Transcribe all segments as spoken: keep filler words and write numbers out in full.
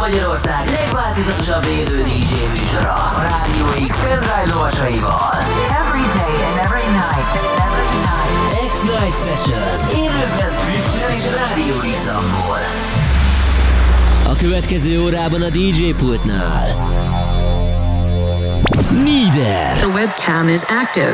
Magyarország legváltozatosabb élő dé dzsé műsora a Rádió X pendrive lovasaival. Every day and every night, every night. X-Night Session. Élőben Twitch-en és Rádió X-amból. A következő órában a dé dzsé pultnál Needer. The webcam is active.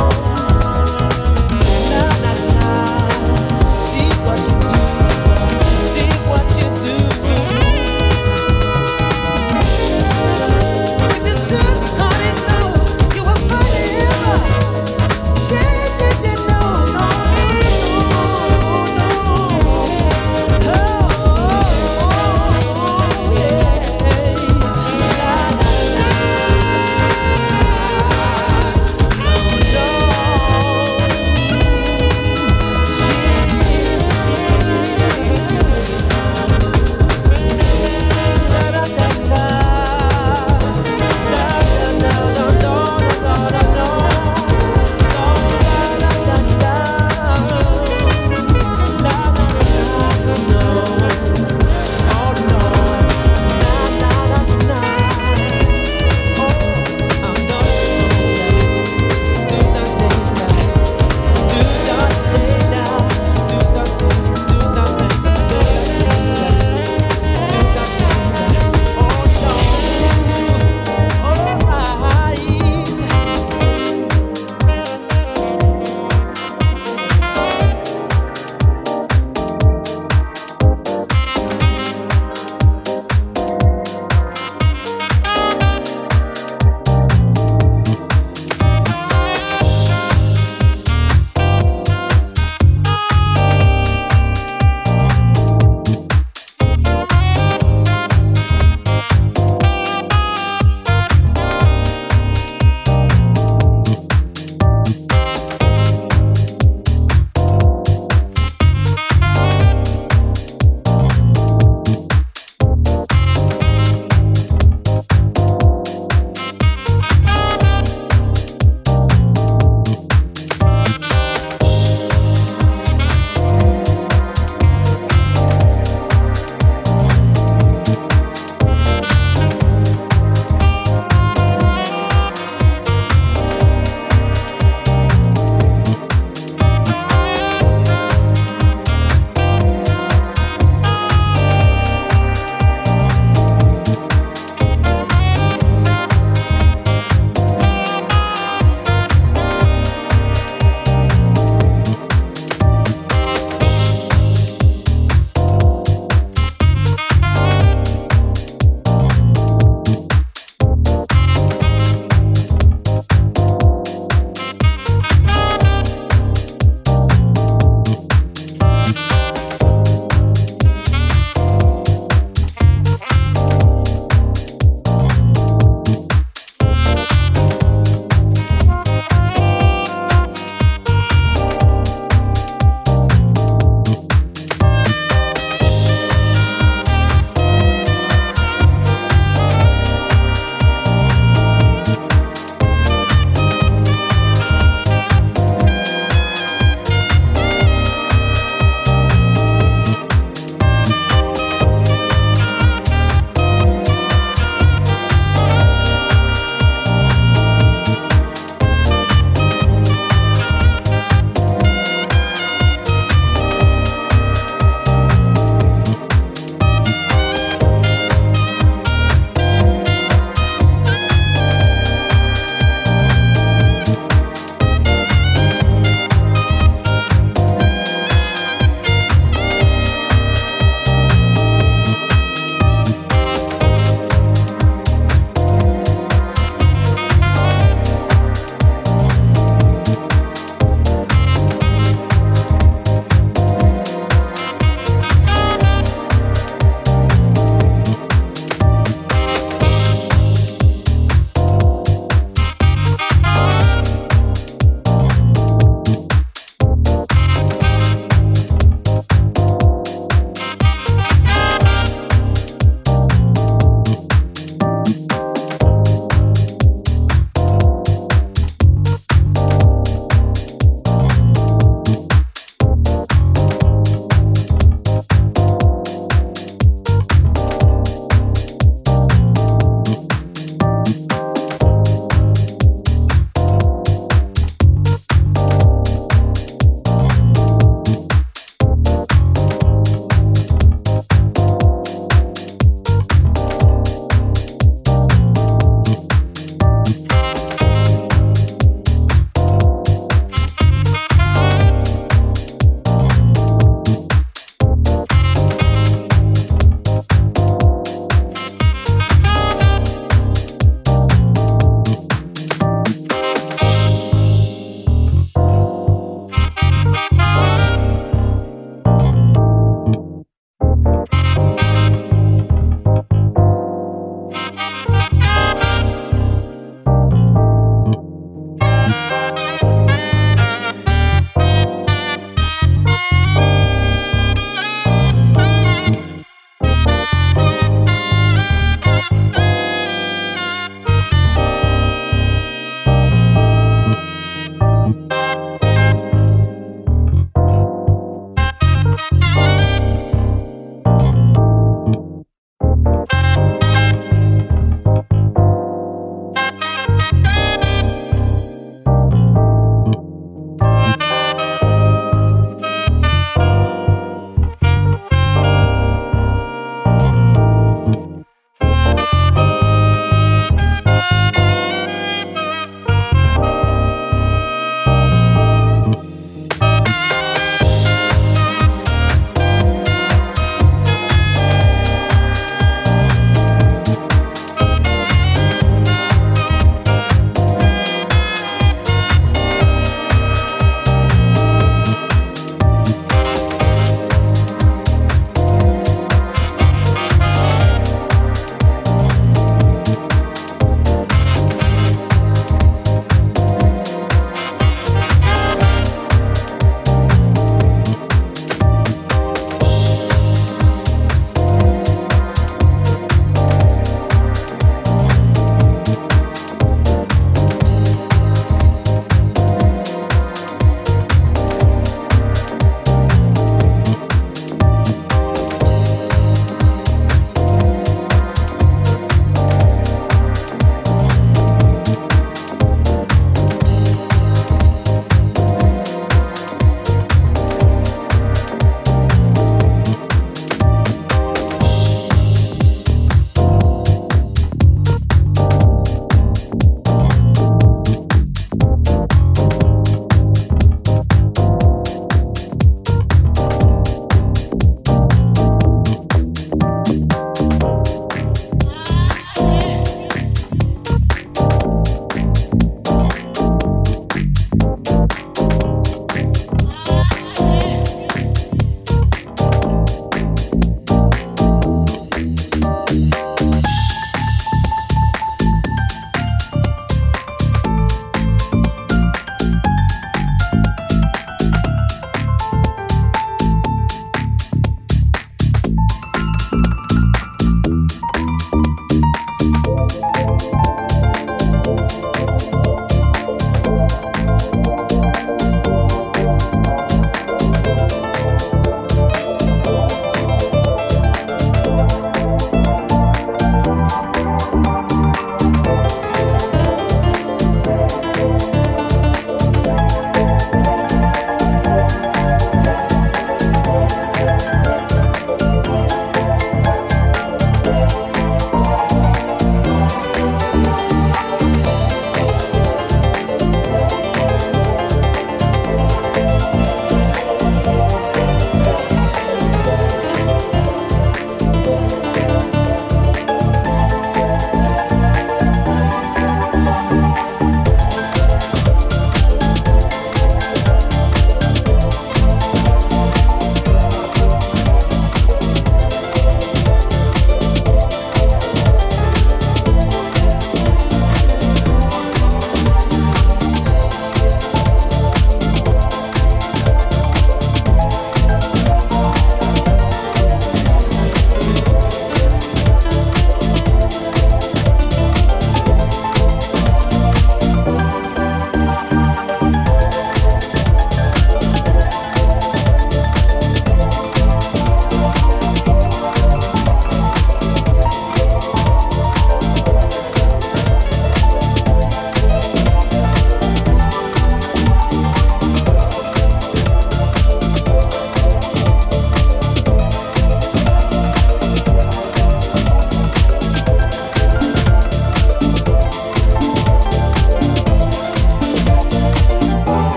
See what you do.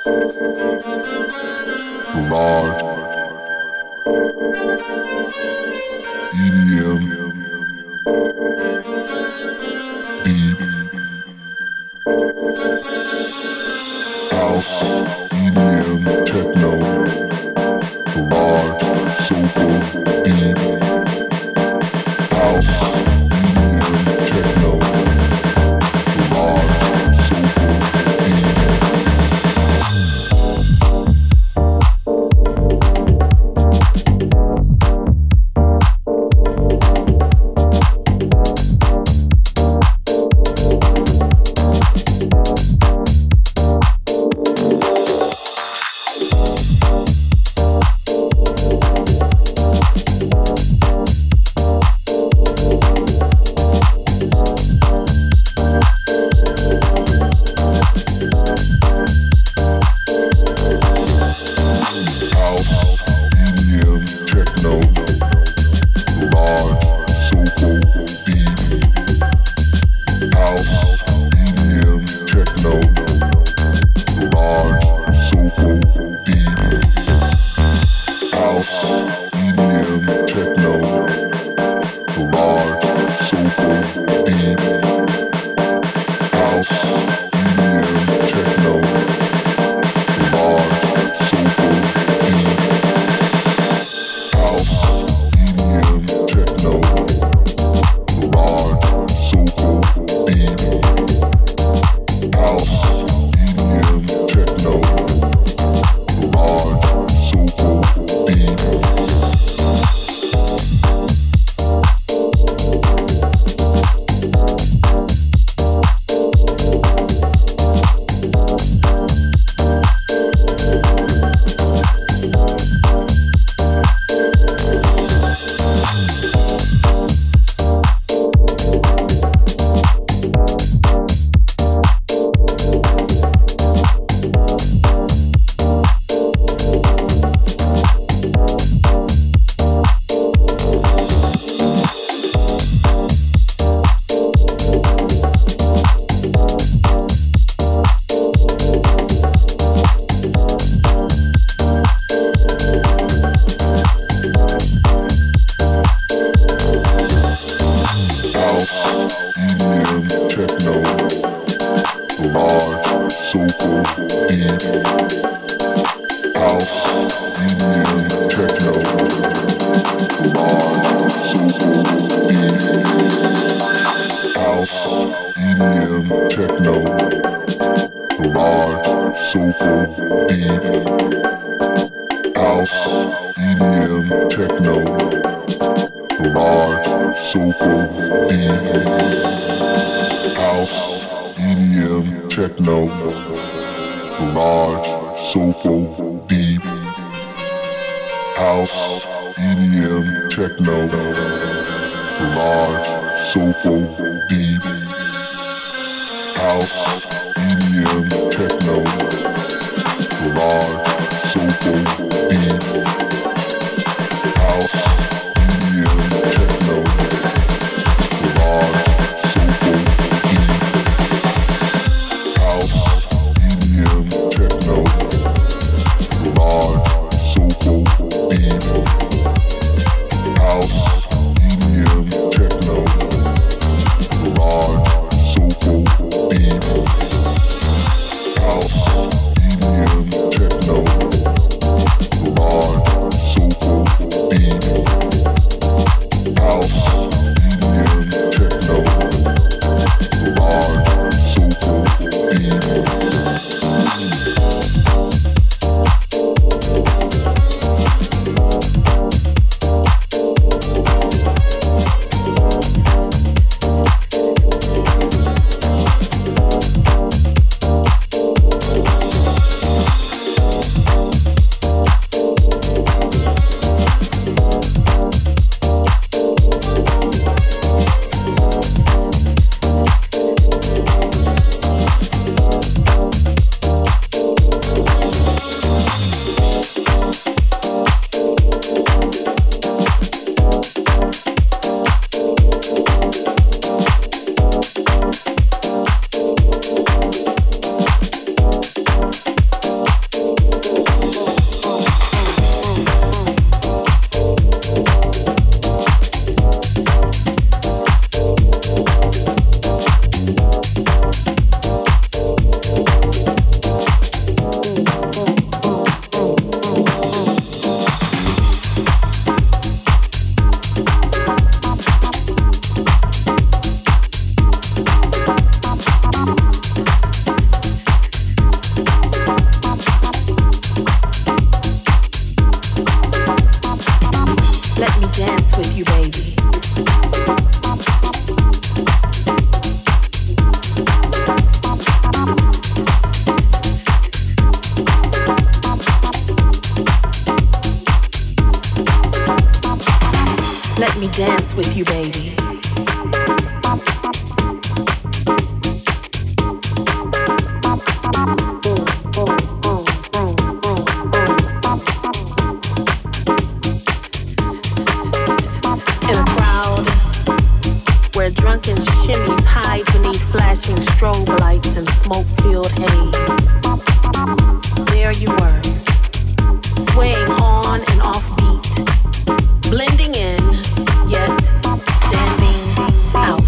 Garage, E D M, deep house, E D M, techno, garage, soulful, deep house, E D M, techno, garage, soulful, deep. Techno, Let me dance with you, baby. In a crowd where drunken shimmies hide beneath flashing strobe lights and smoke-filled haze, there you were, swaying on and off beat, blending in, yet standing out.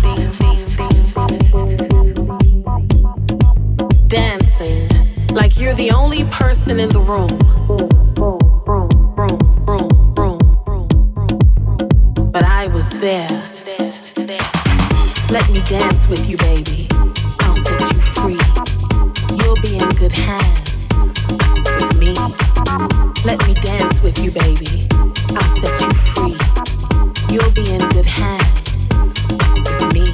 Dancing like you're the only person in the room. But I was there. Let me dance with you, baby. I'll set you free. You'll be in good hands with me. Let me dance with you, baby. I'll set you free. You'll be in good hands with me.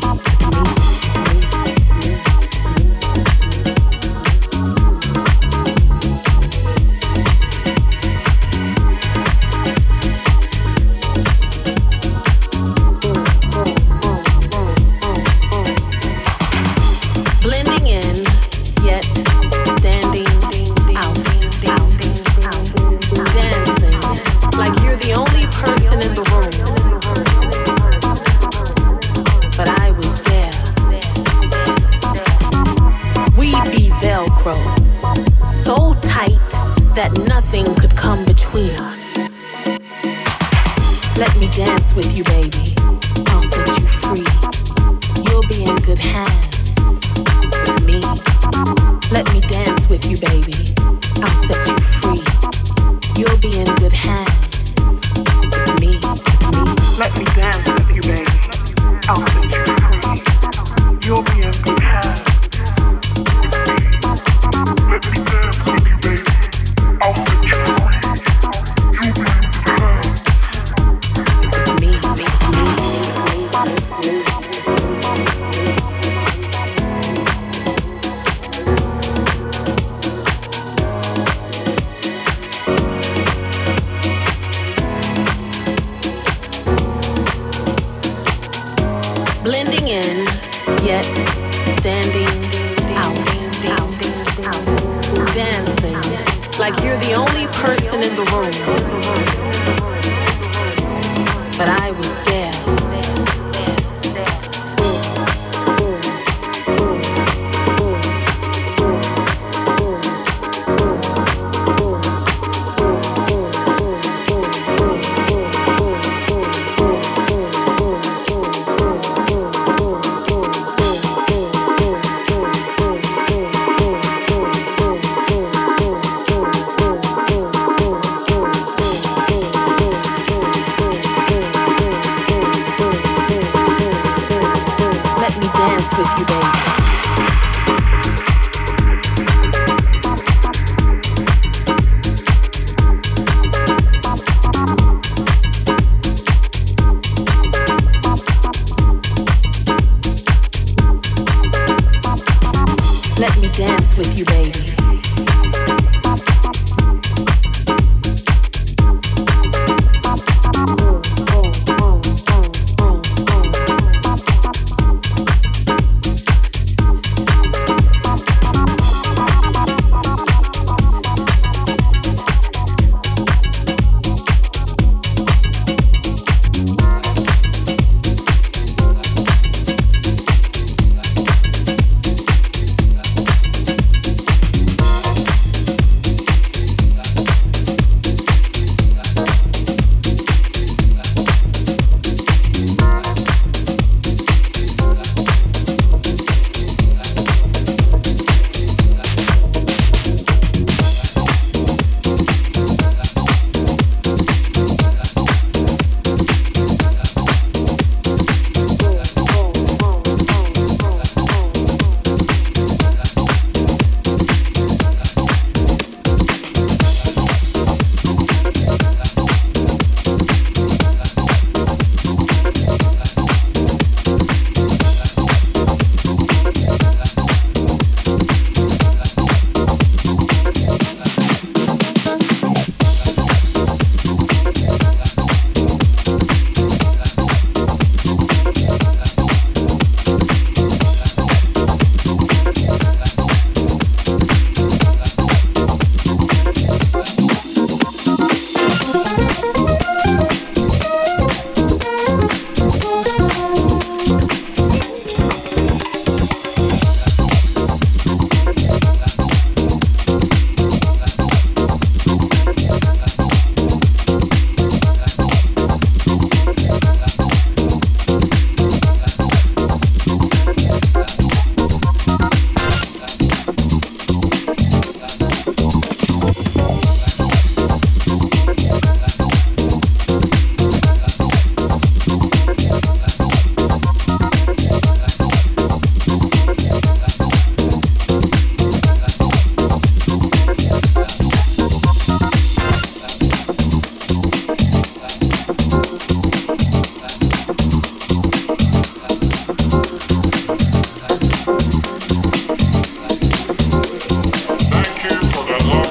Blending in, yet standing out. Dancing like you're the only person in the room. But I was there. We'd be Velcro, so tight that nothing could come between us. Let me dance with you, baby. I'll set you free. You'll be in good hands with me. Let me dance with you, baby. I'll set you free. You'll be in good hands with me. Let me dance with you, baby. I'll set you free. You'll be in good hands with me. Let me dance with you, baby. I'll set you free. You'll be in good hands with me. me, me. Blending in, yet standing out. Dancing like you're the only person in the room. But I was there. With you, baby. Let me dance with you, baby.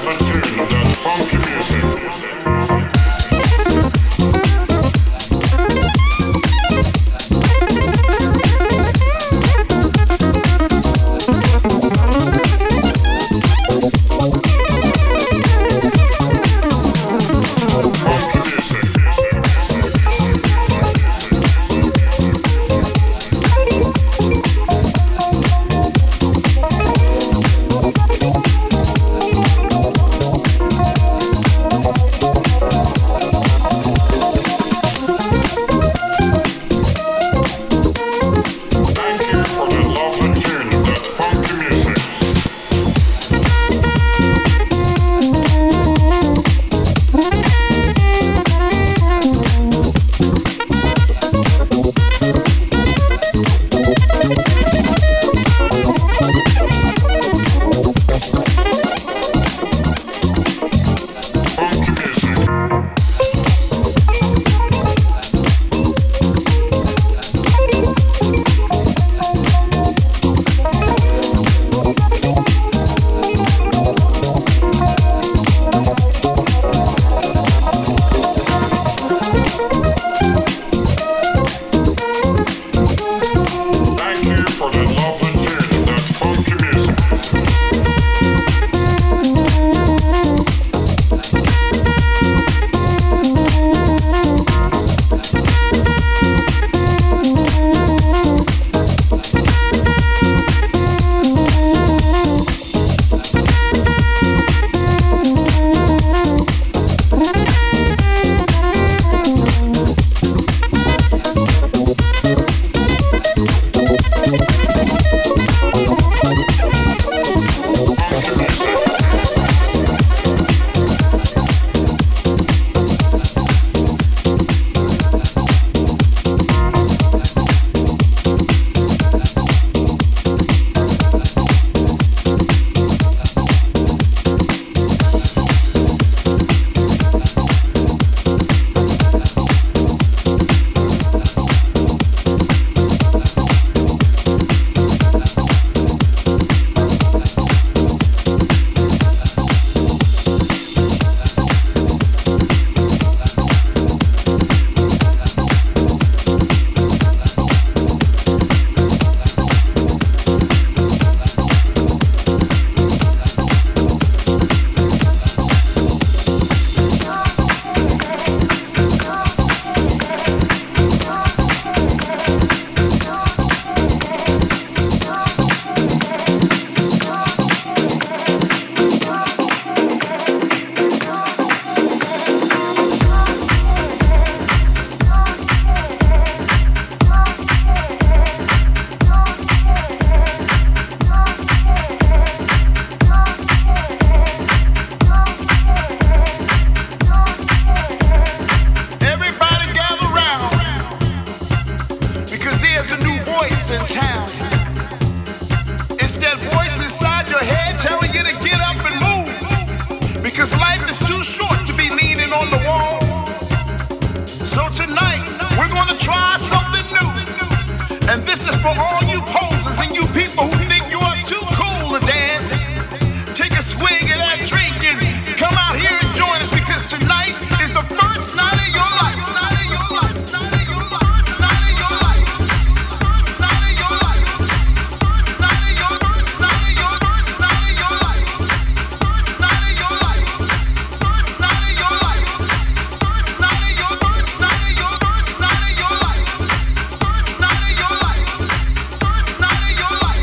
Your life.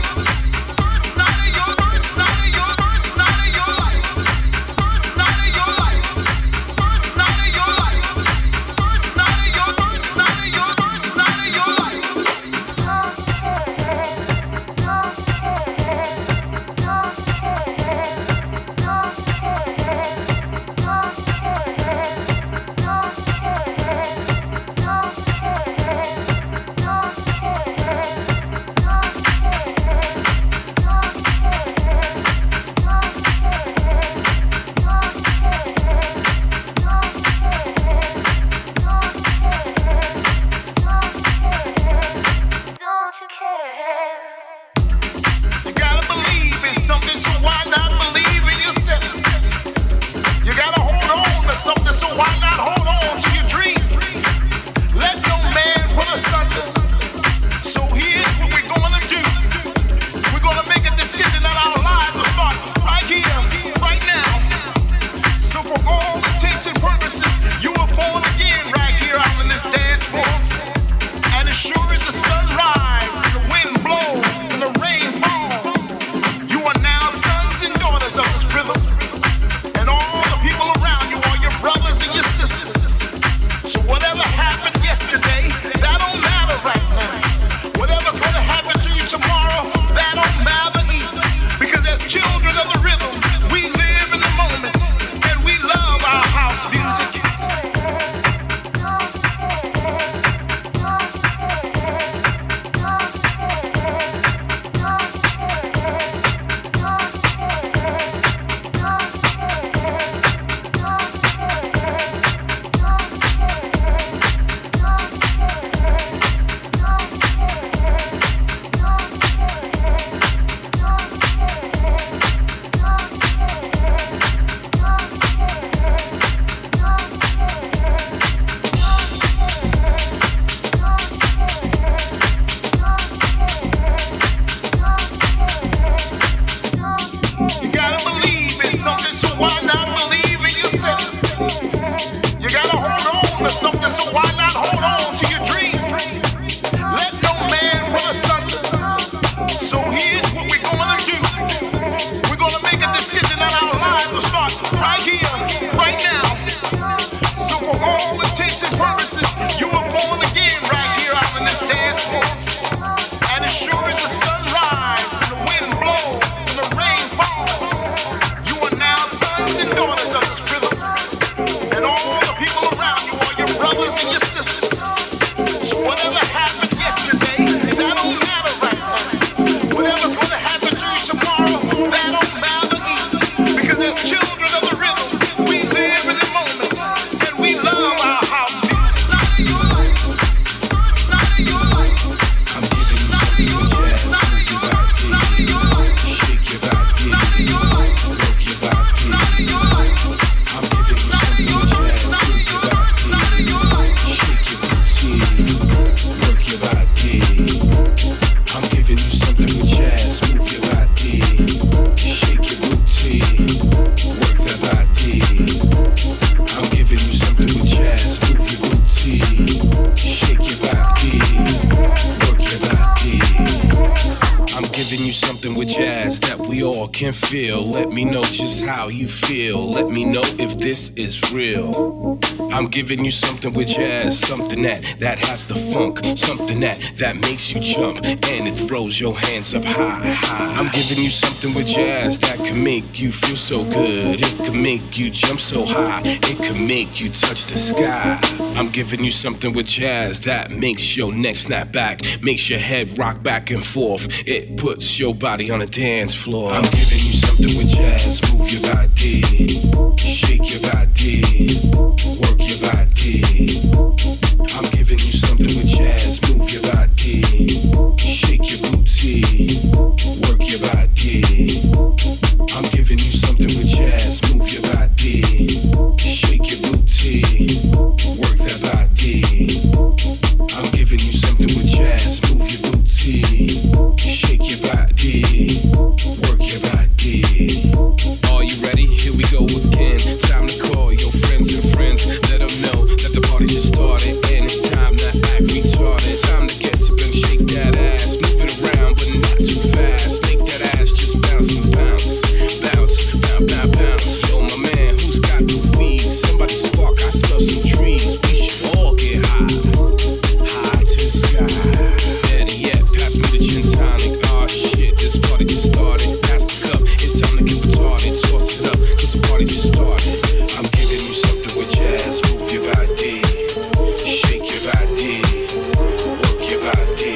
or can feel. Let me know just how you feel. Let me know if this is real. I'm giving you something with jazz, something that, that has the funk, something that, that makes you jump and it throws your hands up high, high. I'm giving you something with jazz that can make you feel so good. It can make you jump so high. It can make you touch the sky. I'm giving you something with jazz that makes your neck snap back, makes your head rock back and forth. It puts your body on a dance floor. I'm giving you something with jazz. Move your body, shake your body, work your body. I'm giving you something with jazz. Move your body, shake your booty, work your body. I'm giving you something with jazz. Move your body, shake your booty, work that body. I'm giving you something with jazz. Move your booty, shake your body, work your body. Are you ready? Here we go again. Time to call your friends and friends. Let them know that the party just started and it's time to act retarded. Time to get up and shake that ass. Move it around but not too fast. Make that ass just bounce and bounce. Bounce, bounce, bounce, bounce. Yo, my man, who's got the weed? Somebody spark, I smell some trees. We should all get high. High to the sky. Better yet, pass me the gin tonic. Oh shit, this party just started. Pass the cup, it's time to get retarded. Toss it up, cause the party just started. I'm giving you something with jazz. Move your body, shake your body, work your body.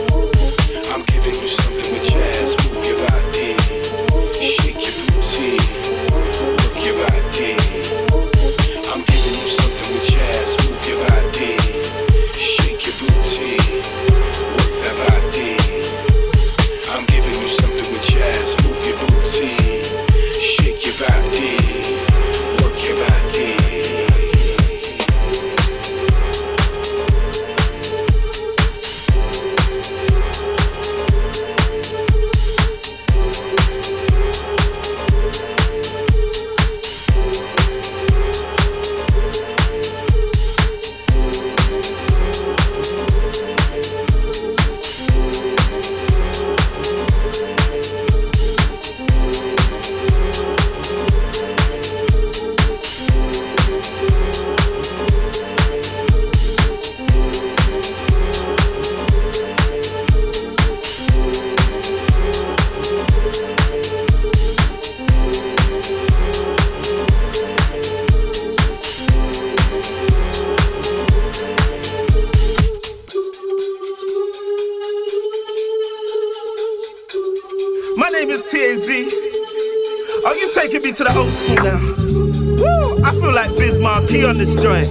I'm giving you something with jazz. Move your body, shake your booty, work your body. I'm giving you something with jazz. Move your body, shake your booty, work that body. I'm giving you something with jazz. Move your booty, shake your body, work your body. My name is T A Z. Oh, you taking me to the old school now. Woo! I feel like Biz Markie on this joint.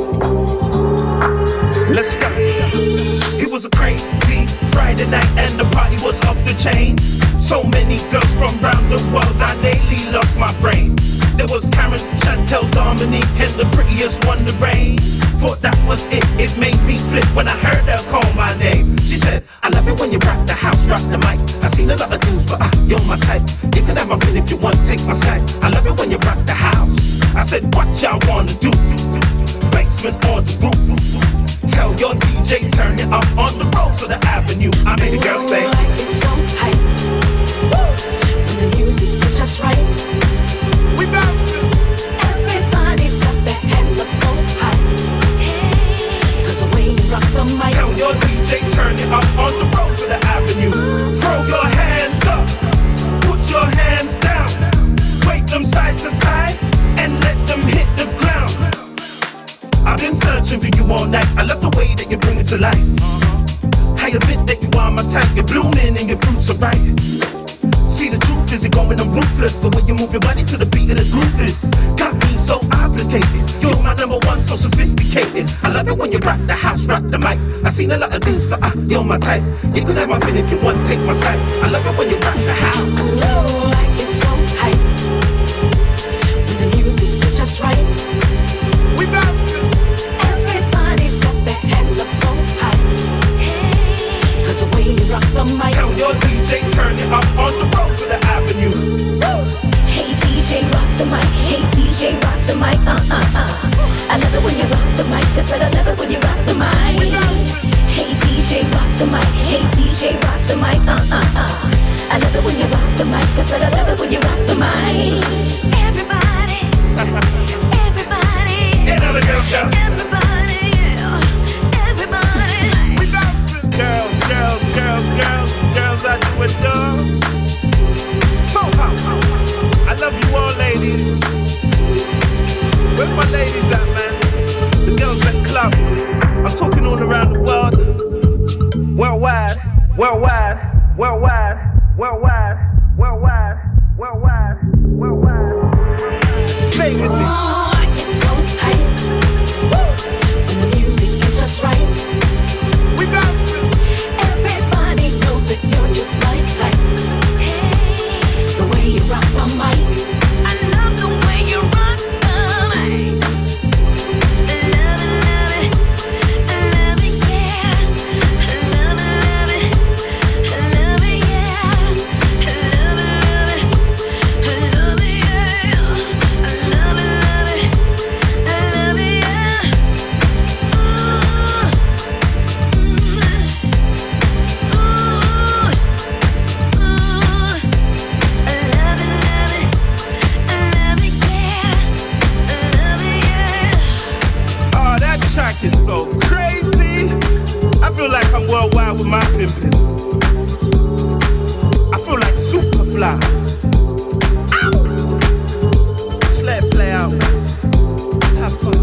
Let's go. It was a crazy Friday night and the party was off the chain. So many girls from around the world, I nearly lost my brain. There was Karen, Chantel, Dominique, and the prettiest one, the rain. Thought that was it, it made me split when I heard her call my name. She said, I love it when you rock the house, rock the mic. I seen a lot of dudes, but uh, you're my type. You can have my ring if you want, take my side. I love it when you rock the house. I said, what y'all wanna do? Basement on the roof. Tell your D J, turn it up on the road to the avenue. I made a girl say, it's so hype. When the music is just right. we bouncing. Everybody's got their hands up so high. Cause the way you rock the mic. Tell your D J, turn it up on the road to the avenue. Throw your hands up, put your hands down. Wave them side to side and let them hit the ground. I've been searching for you all night. I love the way that you bring it to life. I admit that you are my type. You're blooming and your fruits are ripe. See, the truth is you're going on ruthless. The way you move your body to the beat of the groove is got me so obligated. You're my number one, so sophisticated. I love it when you rock the house, rock the mic. I seen a lot of dudes, but uh, you're my type. You can have my pen if you want, take my side. I love it when you rock the house. Oh, like it's so hype. When the music is just right. We bouncing. Everybody's got their hands up so high. Cause the way you rock the mic. Tell your D J, turn it up on the road to the avenue. Hey D J, rock the mic. Hey D J, rock the mic. Uh uh uh. I love it when you rock the mic. I said I love it when you rock the mic. Hey D J, rock the mic. Hey D J, rock the mic. Uh uh uh. I love it when you rock the mic. I said I love Worldwide, worldwide, worldwide, worldwide, worldwide, worldwide. Stay with me. Oh, I get so hyped. When the music is just right. We bouncing. Everybody knows that you're just my type. Hey, the way you rock the mic. I love the way you rock the mic. I love it, love it. I love it, yeah. I love it, love it. I love it, yeah. I love it, love it. I love it, yeah. I love it, love it. I love it, yeah. Ooh. Ooh. Ooh. I love it, love it. I love it, yeah. I love it, yeah. Oh, that track is so crazy. I feel like I'm worldwide with my pimpin'. I feel like Superfly. Ow! Just let it play out. Let's have fun.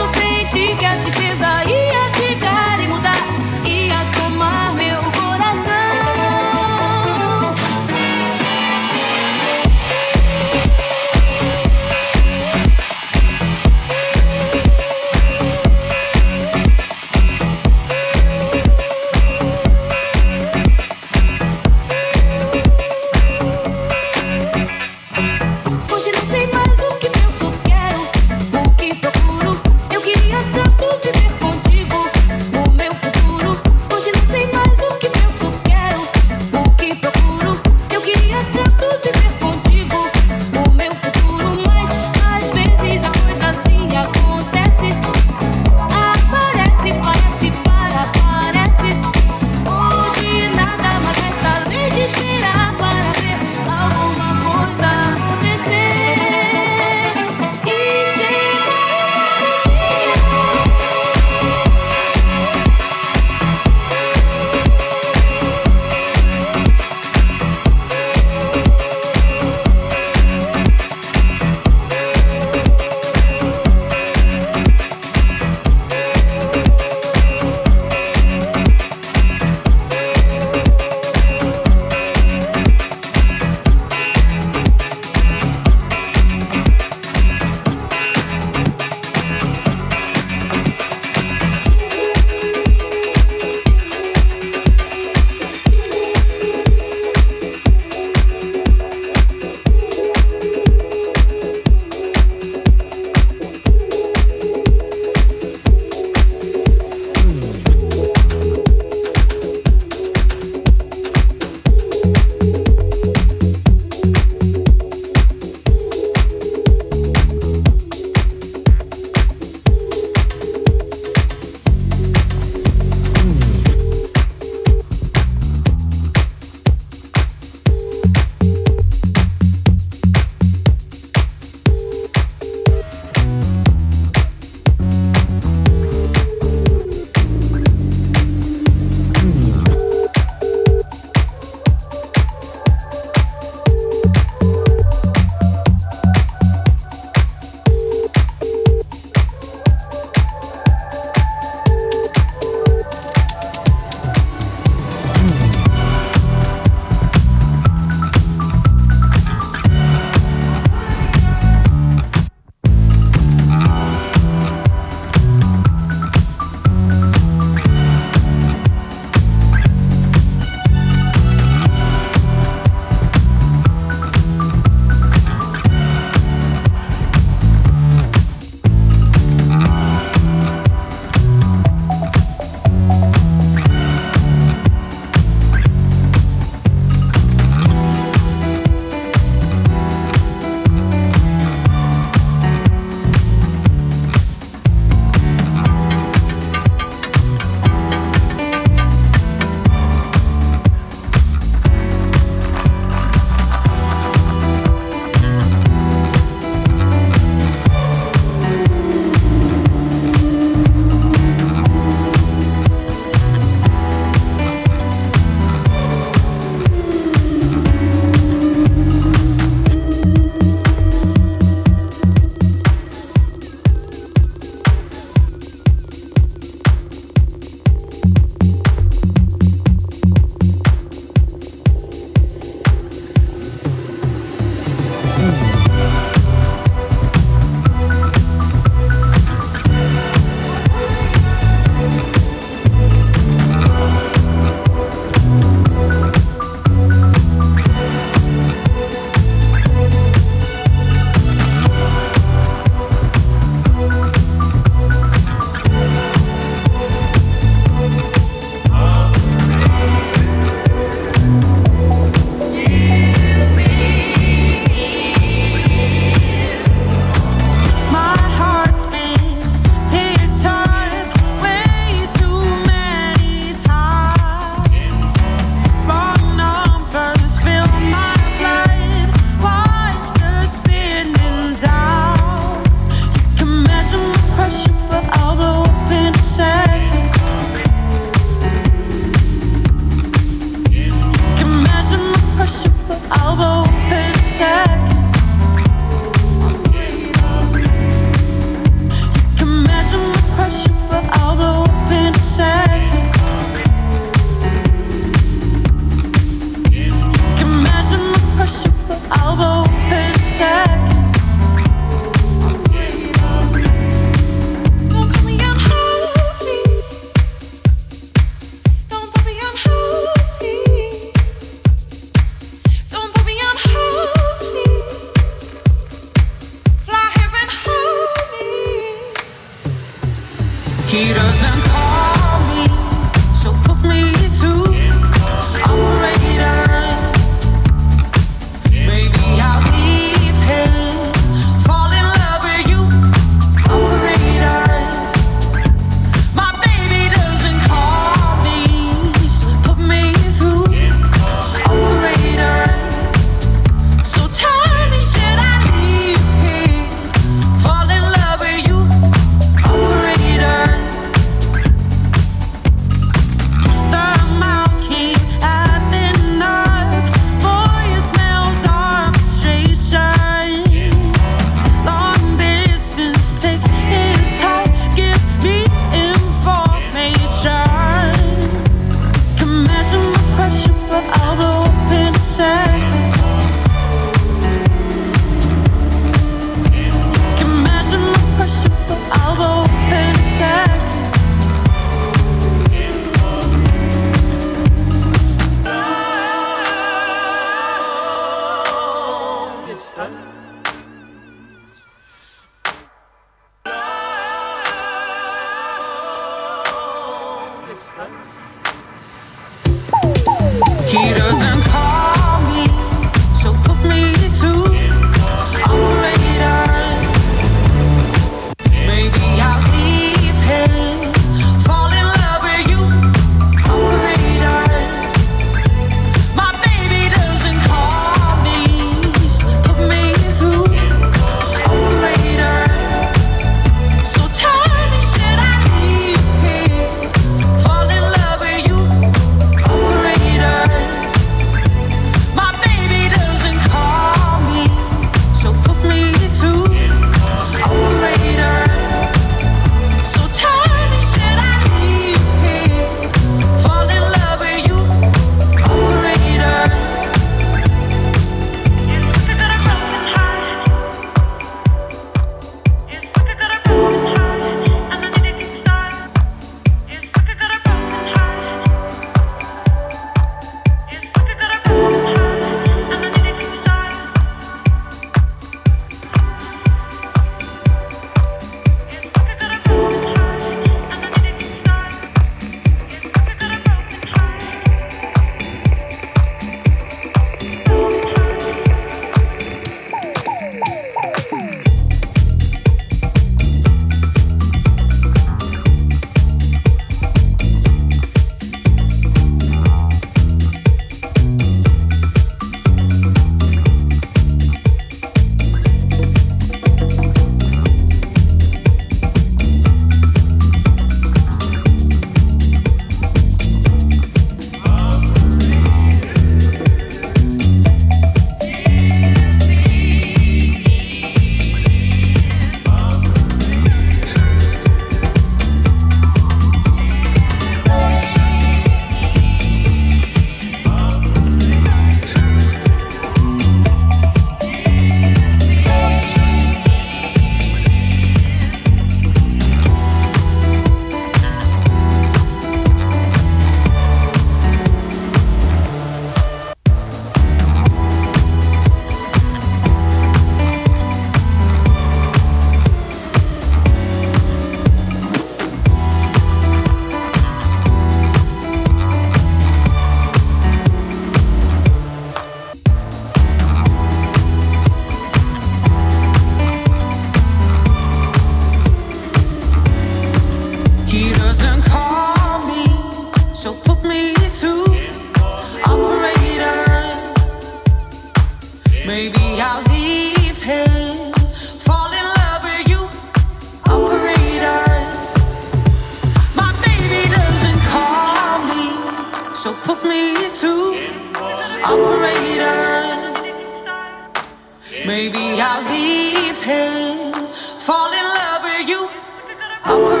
Maybe I'll leave him, fall in love with you. Operator.